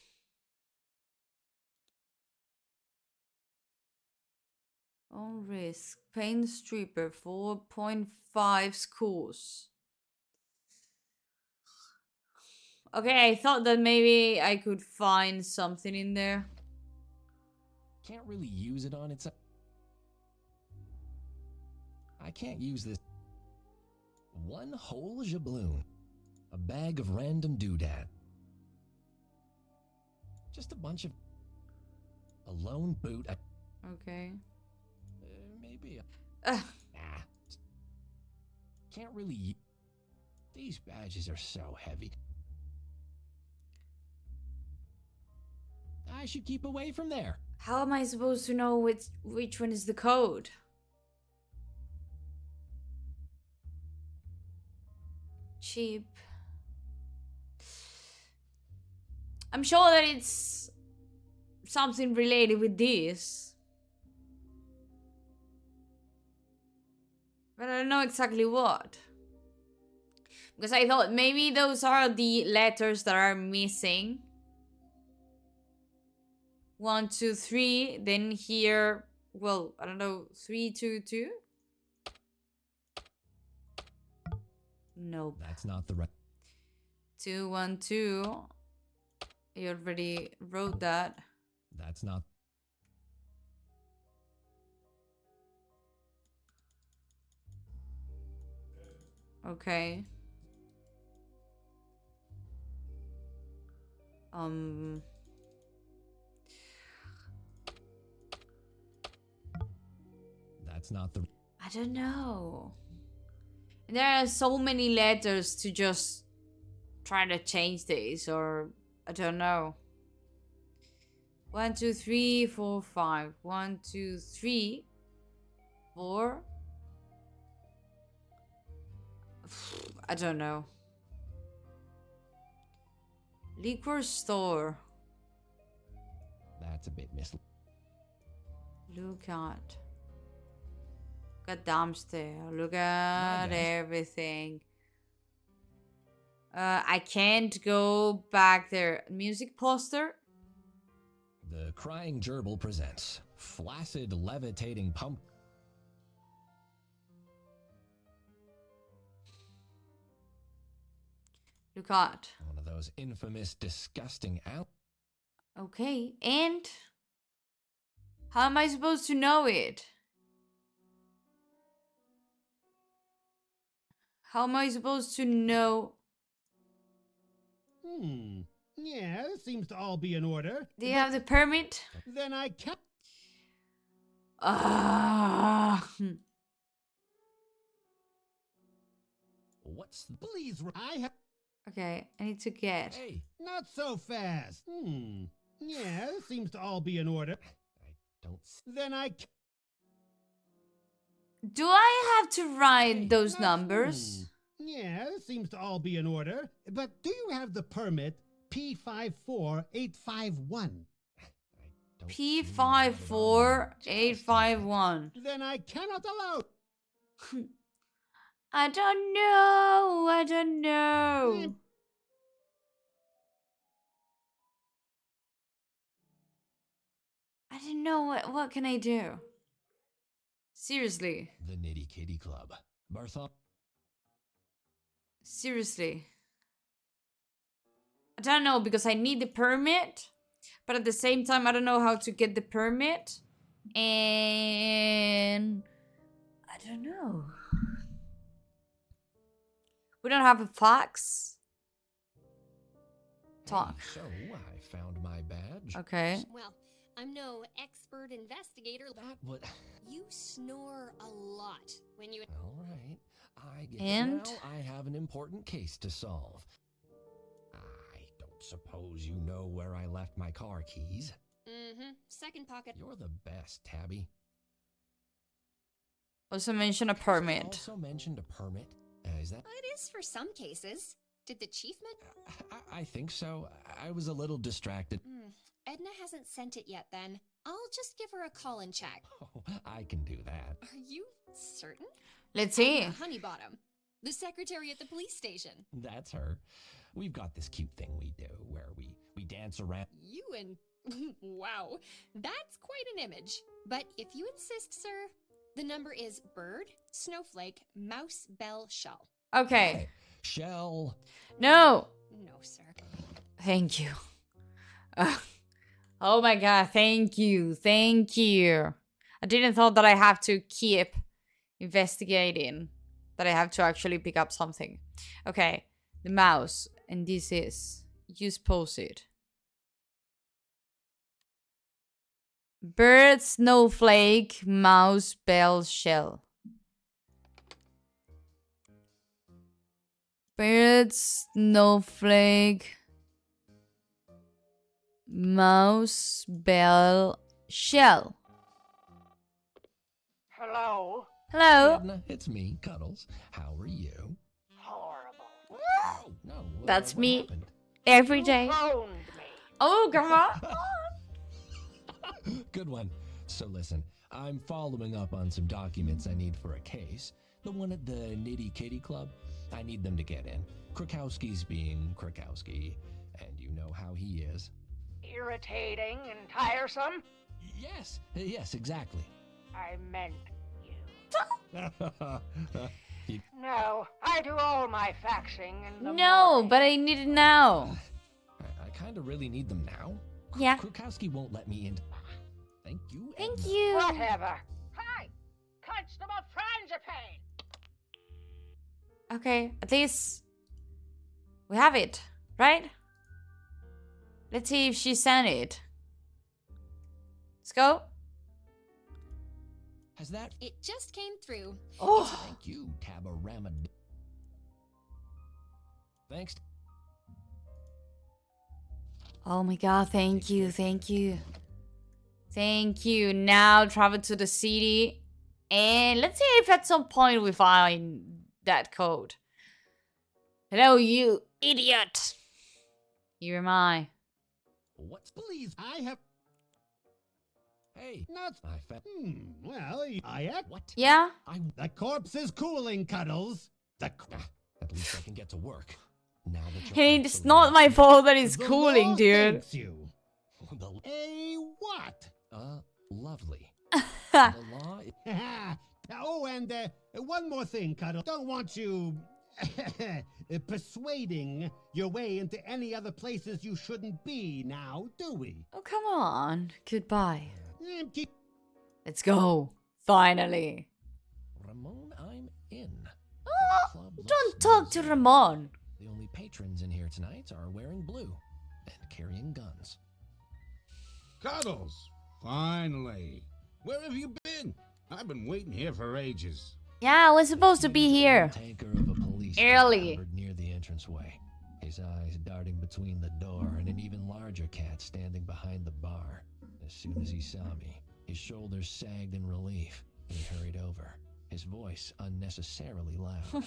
On risk. Paint stripper, 4.5 scores. Okay, I thought that maybe I could find something in there. Can't really use it on its own. I can't use this. One whole jabloon. A bag of random doodad. Just a bunch of... A lone boot. Okay. Maybe. Ugh. Nah. Can't really... These badges are so heavy. I should keep away from there. How am I supposed to know which one is the code? Cheap. I'm sure that it's something related with this. But I don't know exactly what. Because I thought maybe those are the letters that are missing. 1, 2, 3. Then here, well, I don't know, 3, 2, 2. Nope. That's not the right... 2, 1, 2. You already wrote that. That's not... Okay. That's not the... I don't know. There are so many letters to just try to change this, or I don't know. 1, 2, 3, 4, 5. 1, 2, 3, 4. I don't know. Liquor store. That's a bit misleading. Look at dumpster. Look at everything. I can't go back there. Music poster. The Crying Gerbil presents Flaccid Levitating Pump. Look at. One of those infamous, disgusting out. Okay, and how am I supposed to know it? How am I supposed to know? Yeah, seems to all be in order. Do you have the permit? Then I can't. Ah. What's the... Please, I have. Okay, I need to get. Hey, Not so fast. Yeah, seems to all be in order. I don't... Then I. Do I have to write Hey, those numbers? Yeah, seems to all be in order. But do you have the permit P54851? P54851. Then I cannot allow. I don't know. I don't know. I don't know. What can I do? Seriously. The Nitty Kitty Club. Bertha? Seriously. I don't know because I need the permit, but at the same time I don't know how to get the permit, and I don't know. We don't have a fax. Talk. Hey, so, I found my badge. Okay. Well, I'm no expert investigator. That would... You snore a lot when you... All right. I get And? it now. I have an important case to solve. I don't suppose you know where I left my car keys. Mm-hmm. Second pocket. You're the best, Tabby. Also mention a permit. Also mentioned a permit. Is that... It is for some cases. Did the chief I think so. I was a little distracted. Edna hasn't sent it yet then. I'll just give her a call and check. Oh, I can do that. Are you certain? Let's see. Honeybottom, the secretary at the police station. That's her. We've got this cute thing we do where we dance around. You and... wow, that's quite an image. But if you insist, sir, the number is bird, snowflake, mouse, bell, shell. Okay. Hey, Shell. No. No, sir. Thank you. Oh my god, thank you. Thank you. I didn't thought that I have to keep investigating. That I have to actually pick up something. Okay. The mouse. And this is... Use post-it. Bird, snowflake, mouse, bell, shell. Bird, snowflake, mouse, bell, shell. Hello? Hello? Edna, it's me, Cuddles. How are you? Horrible. Oh, no. That's what me. happened? Every day. Phoned me. Oh, come on. Good one. So listen, I'm following up on some documents I need for a case. The one at the Nitty Kitty Club. I need them to get in. Krakowski's being Krakowski, and you know how he is. Irritating and tiresome? Yes, exactly. I meant you. No, I do all my faxing in the No, morning. but I need it now. I kind of really need them now. Yeah. Krakowski won't let me in. Thank you. Thank Edna. you. Whatever. Hi! Constable Frangipane! Okay, at least we have it, right? Let's see if she sent it. Let's go. Has that... It just came through. Oh, Thank you, Tabarama. Thanks. oh my god, thank you, thank you. Thank you. Now travel to the city. And let's see if at some point we find that code. Hello, you idiot. Here am I. What's... Please, I have. Hey, Not. I found... Well, I have. What? Yeah? The corpse is cooling, Cuddles. The. At least I can get to work. Now that you're Hey, it's absolutely not my right. fault that it's The cooling, law dude. thanks you. The... A what? Lovely. The law... Oh, and one more thing, Cuddle. Don't want you persuading your way into any other places you shouldn't be now, do we? Oh, come on. Goodbye. Keep. Let's go. Finally. Ramon, I'm in. Oh, Club don't looks talk to busy. Ramon. The only patrons in here tonight are wearing blue. and carrying guns. Cuddles! Finally! Where have you been? I've been waiting here for ages. Yeah, I was supposed to be here. Tanker of a police Early. covered near the entranceway, his eyes darting between the door and an even larger cat standing behind the bar. As soon as he saw me, his shoulders sagged in relief, and he hurried over, his voice unnecessarily loud.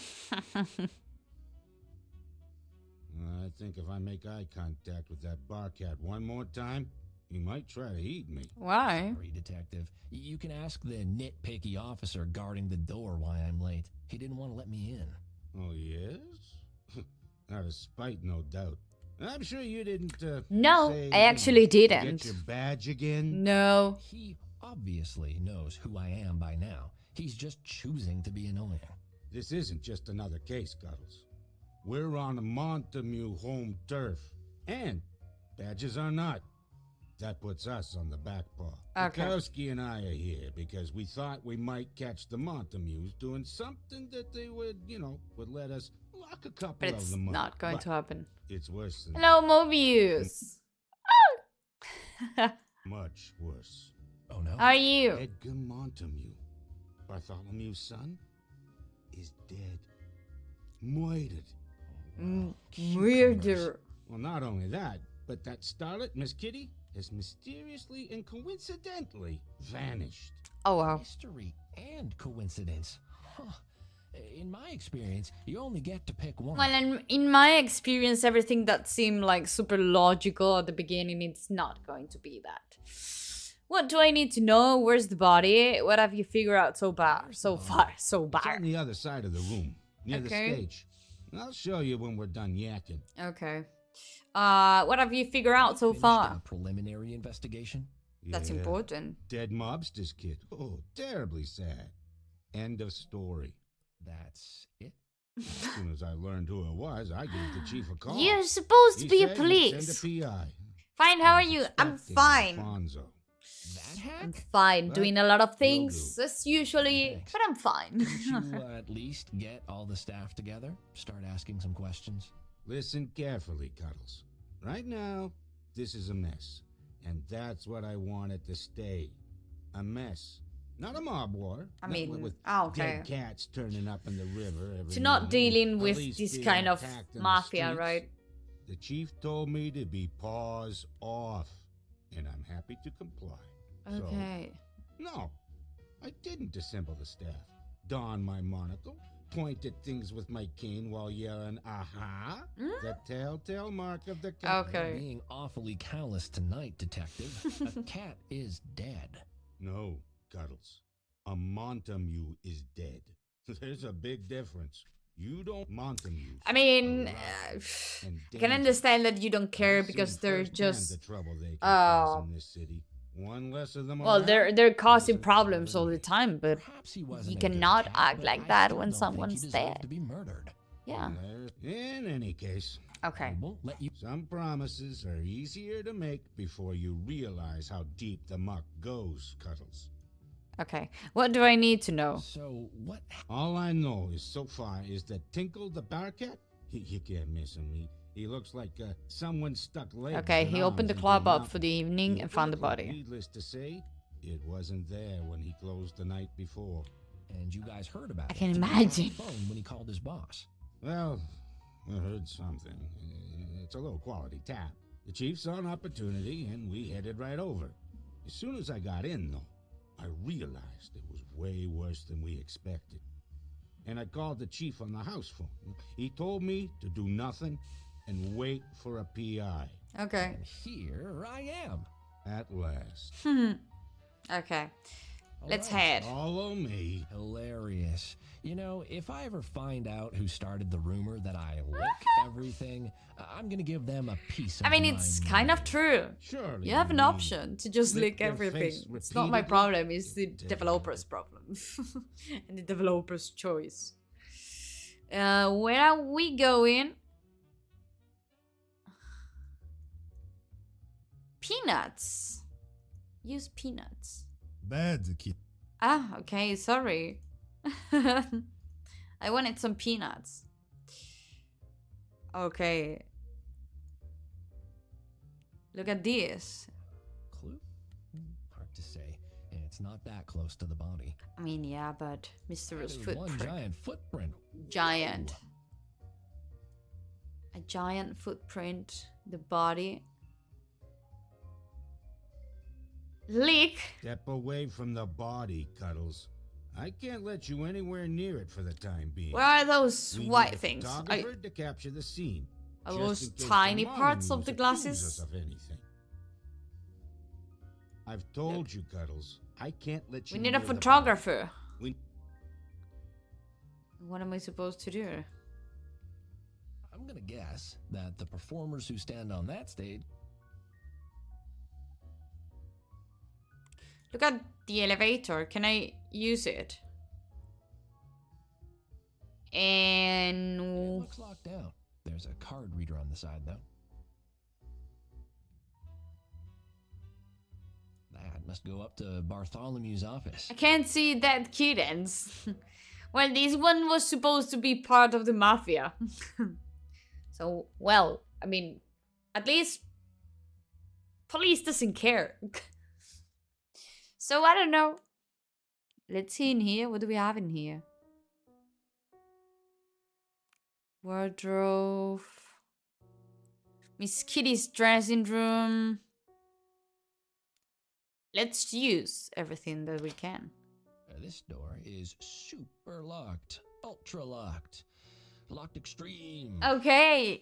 I think if I make eye contact with that bar cat one more time, he might try to eat me. Why? Sorry, detective. You can ask the nitpicky officer guarding the door why I'm late. He didn't want to let me in. Oh, yes? Out of spite, no doubt. I'm sure you didn't, No, say, I actually didn't. Get your badge again? No. He obviously knows who I am by now. He's just choosing to be annoying. This isn't just another case, Cuddles. We're on a Montemute home turf. And badges are not. That puts us on the back paw. Okay. Bukowski and I are here because we thought we might catch the Montemutes doing something that they would, would let us lock a couple But of it's them up. not going But to happen. It's worse than Hello, Mobius. much worse. Oh no? How are you? Edgar Montemute, Bartholomew's son, is dead. Murdered. Murder. Well, not only that, but that starlet, Miss Kitty, has mysteriously and coincidentally vanished. Oh, wow. Mystery and coincidence. Huh. In my experience, you only get to pick one. Well, in my experience, everything that seemed like super logical at the beginning, it's not going to be that. What do I need to know? Where's the body? What have you figured out so far? So It's on the other side of the room, near the Okay. stage. I'll show you when we're done yakking. Okay. What have you figured out so Finished far? a preliminary investigation? That's Yeah. important. Dead mobster's kid. Oh, terribly sad. End of story. That's it? As soon as I learned who it was, I gave the chief a call. You're supposed to He be a said he'd police. Send a PI. Fine, how I are was you? I'm expecting fine. Alfonso. That hack? I'm fine. Well, Doing a lot of will things do. as usually, Thanks. but I'm fine. Can't you at least get all the staff together? Start asking some questions? Listen carefully, Cuddles. Right now, this is a mess. And that's what I want it to stay. A mess. Not a mob war. I Not mean, with okay. dead cats turning up in the river every So not night, dealing and with police this being kind of attacked in the mafia, streets. right? The chief told me to be paws off, and I'm happy to comply. Okay. So, no, I didn't dissemble the staff, don my monocle, point at things with my cane while yelling, aha, the telltale mark of the cat. Okay. Being awfully callous tonight, detective. A cat is dead. No, Cuddles. A Montemute is dead. There's a big difference. You don't Montemute. I mean, alive and I can dangerous. understand that you don't I've care seen because they're firsthand just the trouble they can cause in this city. One less of them well, around, they're causing is a problems all problem. the time, but Perhaps he wasn't you a good cannot cat, act but like I that still when don't think he someone's deserved dead. to be murdered. Yeah. In any case, Okay. I won't let you. some promises are easier to make before you realize how deep the muck goes, Cuddles. Okay. What do I need to know? So what? All I know is so far is that Tinkle the Bearcat, you can't miss him. He looks like someone stuck legs. Okay, and he opened the arms club into up nothing. for the evening and found the body. Needless to say, it wasn't there when he closed the night before. And you guys heard about I it. can He was on the imagine. phone when he called his boss. Well, I heard something. It's a low-quality tap. The chief saw an opportunity, and we headed right over. As soon as I got in, though, I realized it was way worse than we expected. And I called the chief on the house phone. He told me to do nothing and wait for a PI. Okay. And here I am. At last. Okay. All Let's right. head. Follow me. Hilarious. You know, if I ever find out who started the rumor that I lick everything, I'm gonna give them a piece of I mean, my it's kind of mind. true. Surely. You have an mean option to just lick lick their everything. face It's not my repeatedly? problem, it's the Damn. developer's problem. And the developer's choice. Where are we going? Peanuts. Use peanuts. Bad kid. Ah, okay, sorry. I wanted some peanuts. Okay. Look at this. Clue? Hard to say. It's not that close to the body. I mean, yeah, but mysterious There's one footprint. giant footprint. Giant. A giant footprint. The body. Leak. Step away from the body, Cuddles. I can't let you anywhere near it for the time being. Where are those We need white a things? photographer to capture the scene. Are just those in case tiny the parts modern of the news accuses glasses? us of anything. I've told you, Cuddles. I can't let you. We need a near the body. photographer. We- What am I supposed to do? I'm gonna guess that the performers who stand on that stage. Look at the elevator. Can I use it? It And looks locked down. There's a card reader on the side, though. That must go up to Bartholomew's office. I can't see that kittens. Well, this one was supposed to be part of the mafia. So, well, I mean, at least police doesn't care. So, I don't know. Let's see in here. What do we have in here? Wardrobe. Miss Kitty's dressing room. Let's use everything that we can. This door is super locked. Ultra locked. Locked extreme. Okay.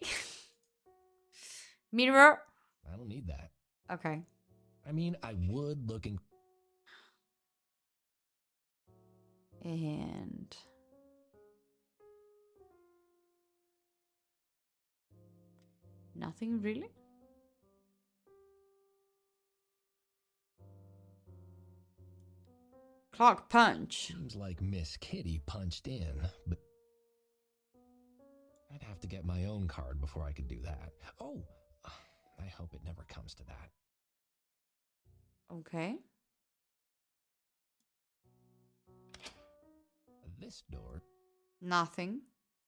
Mirror. I don't need that. Okay. I mean, I would look in. And nothing really? Clock punch. Seems like Miss Kitty punched in, but I'd have to get my own card before I could do that. Oh, I hope it never comes to that. Okay. This door, Nothing.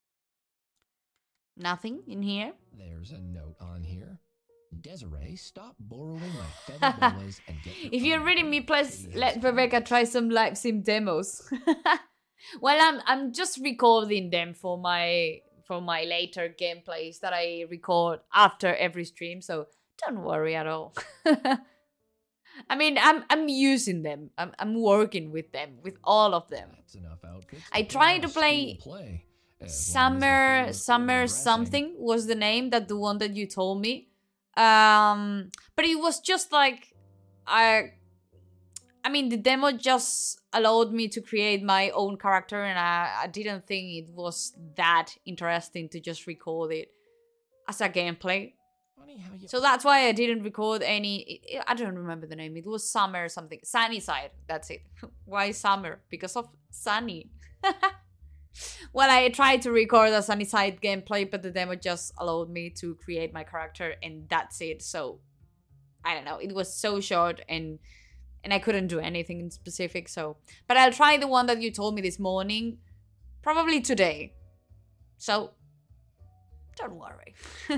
Nothing in here. there's a note on here. Desiree, stop borrowing my feather boas and get your If you're own reading me, card. please Kitty let has Rebecca try some live sim demos. Well, I'm just recording them for my later gameplays that I record after every stream, so don't worry at all. I mean, I'm using them. I'm working with them, with all of them. That's enough outfits. I put tried on a to play school play, as long as the Summer theme is Summer overdressing. something was the name, that the one that you told me. But it was just like I mean, the demo just allowed me to create my own character, and I didn't think it was that interesting to just record it as a gameplay. Funny how you So that's why I didn't record any. I don't remember the name. It was Summer something. Sunny Side. That's it. Why Summer? Because of Sunny. Well, I tried to record a Sunny Side gameplay, but the demo just allowed me to create my character, and that's it. So I don't know. It was so short, and I couldn't do anything in specific. So, but I'll try the one that you told me this morning, probably today. So don't worry.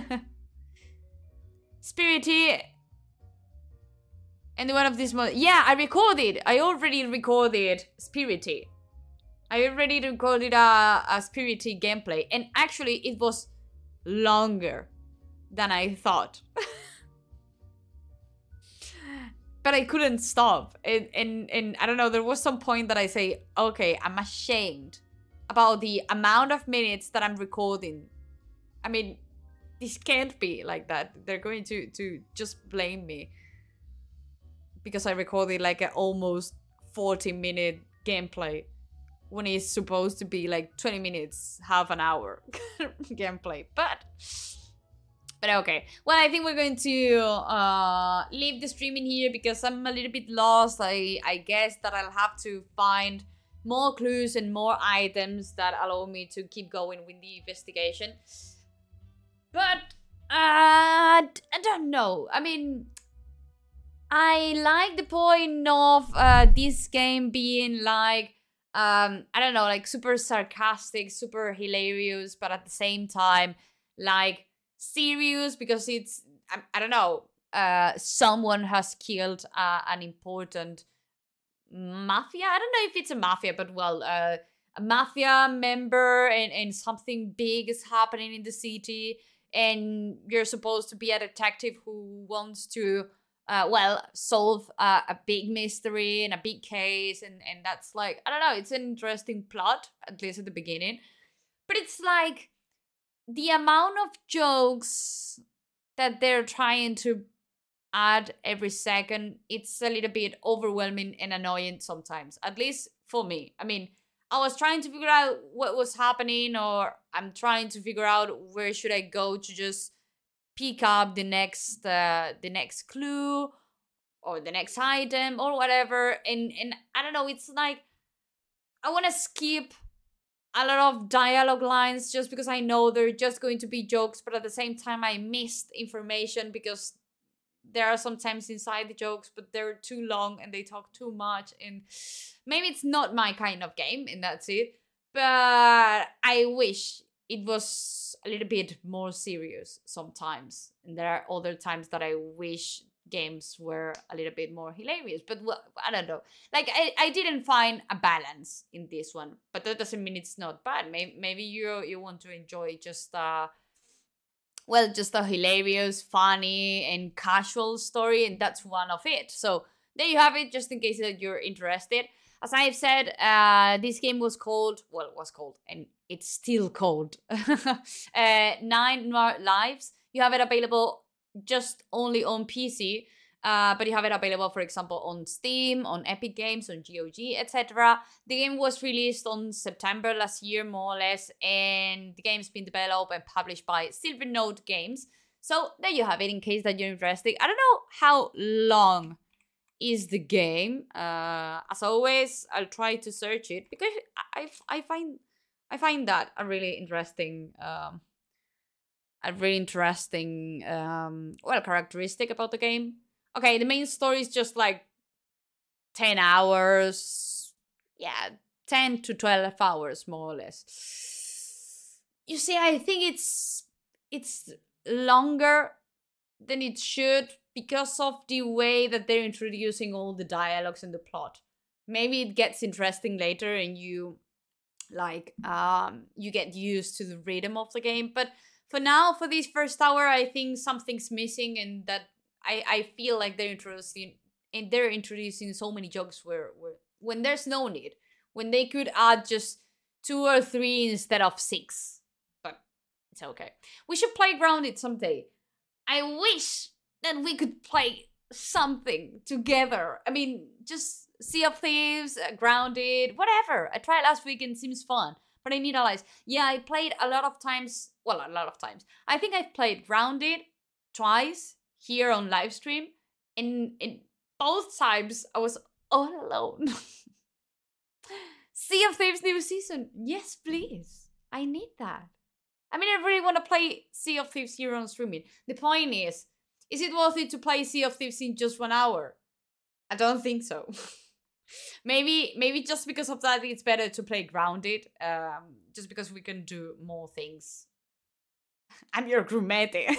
Spirity. And the one of this month. Yeah, I already recorded Spirity. I already recorded a Spirity gameplay. And actually, it was longer than I thought. But I couldn't stop. And I don't know, there was some point that I say, okay, I'm ashamed about the amount of minutes that I'm recording. I mean, this can't be like that. They're going to just blame me because I recorded like an almost 40-minute gameplay when it's supposed to be like 20 minutes, half an hour gameplay. But okay. Well, I think we're going to leave the stream in here because I'm a little bit lost. I guess that I'll have to find more clues and more items that allow me to keep going with the investigation. But I don't know. I mean, I like the point of this game being like, I don't know, like super sarcastic, super hilarious, but at the same time, like serious, because it's, I don't know, someone has killed an important mafia. I don't know if it's a mafia, but well, a mafia member, and something big is happening in the city, and you're supposed to be a detective who wants to solve a big mystery and a big case, and that's like, I don't know, it's an interesting plot, at least at the beginning. But it's like the amount of jokes that they're trying to add every second, it's a little bit overwhelming and annoying sometimes, at least for me. I mean, I was trying to figure out what was happening, or I'm trying to figure out where should I go to just pick up the next clue or the next item or whatever, and I don't know, it's like I want to skip a lot of dialogue lines just because I know they're just going to be jokes, but at the same time I missed information because there are sometimes inside the jokes, but they're too long and they talk too much, and maybe it's not my kind of game, and that's it. But I wish it was a little bit more serious sometimes, and there are other times that I wish games were a little bit more hilarious. But well, I don't know, like I didn't find a balance in this one, but that doesn't mean it's not bad. Maybe you want to enjoy just just a hilarious, funny, and casual story, and that's one of it. So there you have it, just in case that you're interested. As I've said, this game was called, and it's still called 9 More Lives. You have it available just only on PC, but you have it available, for example, on Steam, on Epic Games, on GOG, etc. The game was released on September last year, more or less, and the game's been developed and published by Silvernote Games. So there you have it, in case that you're interested. I don't know how long is the game. As always, I'll try to search it because I find that a really interesting characteristic about the game. Okay, the main story is just like 10 hours. Yeah, 10 to 12 hours, more or less. You see, I think it's longer than it should because of the way that they're introducing all the dialogues and the plot. Maybe it gets interesting later and you get used to the rhythm of the game. But for now, for this first hour, I think something's missing, and that I feel like they're introducing so many jokes where when there's no need, when they could add just 2 or 3 instead of 6. But it's okay. We should play Grounded someday. I wish that we could play something together. I mean, just Sea of Thieves, Grounded, whatever. I tried last week and it seems fun. But I need to realize, yeah, I played a lot of times. I think I've played Grounded twice here on live stream. And both times I was all alone. Sea of Thieves new season. Yes, please. I need that. I mean, I really want to play Sea of Thieves here on streaming. The point is it worth it to play Sea of Thieves in just 1 hour? I don't think so. Maybe just because of that, it's better to play Grounded. Just because we can do more things. I'm your crewmate.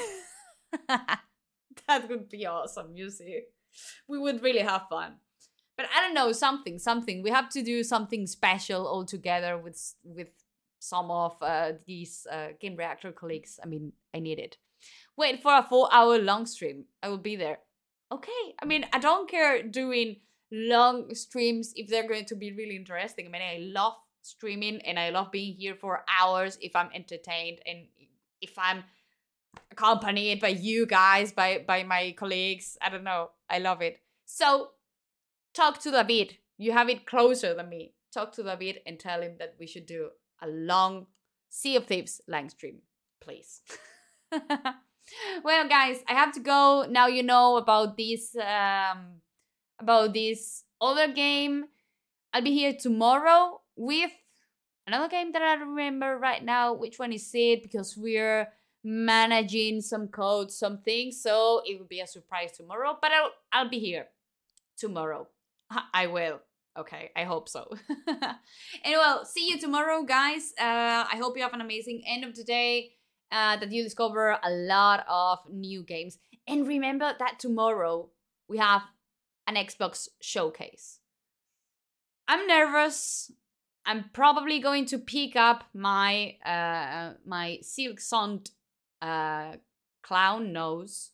That would be awesome, you see. We would really have fun. But I don't know, something. We have to do something special all together with some of these Game Reactor colleagues. I mean, I need it. Wait for a 4-hour long stream. I will be there. Okay. I mean, I don't care doing long streams if they're going to be really interesting. I mean, I love streaming and I love being here for hours if I'm entertained and if I'm accompanied by you guys, by my colleagues. I don't know. I love it. So, talk to David. You have it closer than me. Talk to David and tell him that we should do a long Sea of Thieves live stream, please. Well, guys, I have to go. Now you know about this other game. I'll be here tomorrow with another game that I don't remember right now which one is it, because we're managing some codes, some things, so it will be a surprise tomorrow, but I'll be here tomorrow. I will. Okay, I hope so. And well, see you tomorrow, guys. I hope you have an amazing end of the day. that you discover a lot of new games. And remember that tomorrow we have an Xbox showcase. I'm nervous. I'm probably going to pick up my my Silk Song clown nose.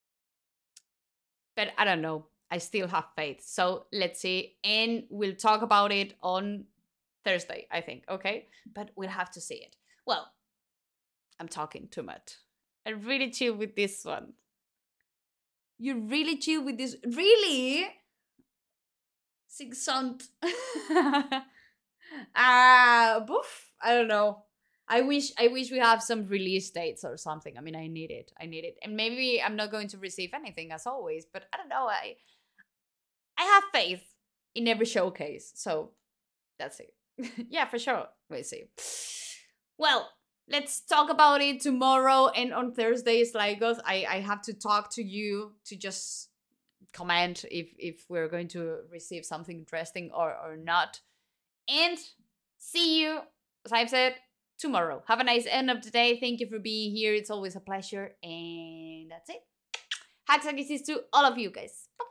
But I don't know. I still have faith. So let's see. And we'll talk about it on Thursday, I think. Okay? But we'll have to see it. Well, I'm talking too much. I really chill with this one. You really chill with this? Really? Silk Song. Boof. I don't know. I wish we have some release dates or something. I mean, I need it. And maybe I'm not going to receive anything as always, but I don't know. I have faith in every showcase. So that's it. Yeah, for sure. We'll see. Well, let's talk about it tomorrow and on Thursdays, Lagos. I have to talk to you to just comment if we're going to receive something interesting or not. And see you, as I've said, tomorrow. Have a nice end of the day. Thank you for being here. It's always a pleasure. And that's it. Hugs and kisses to all of you guys. Bye.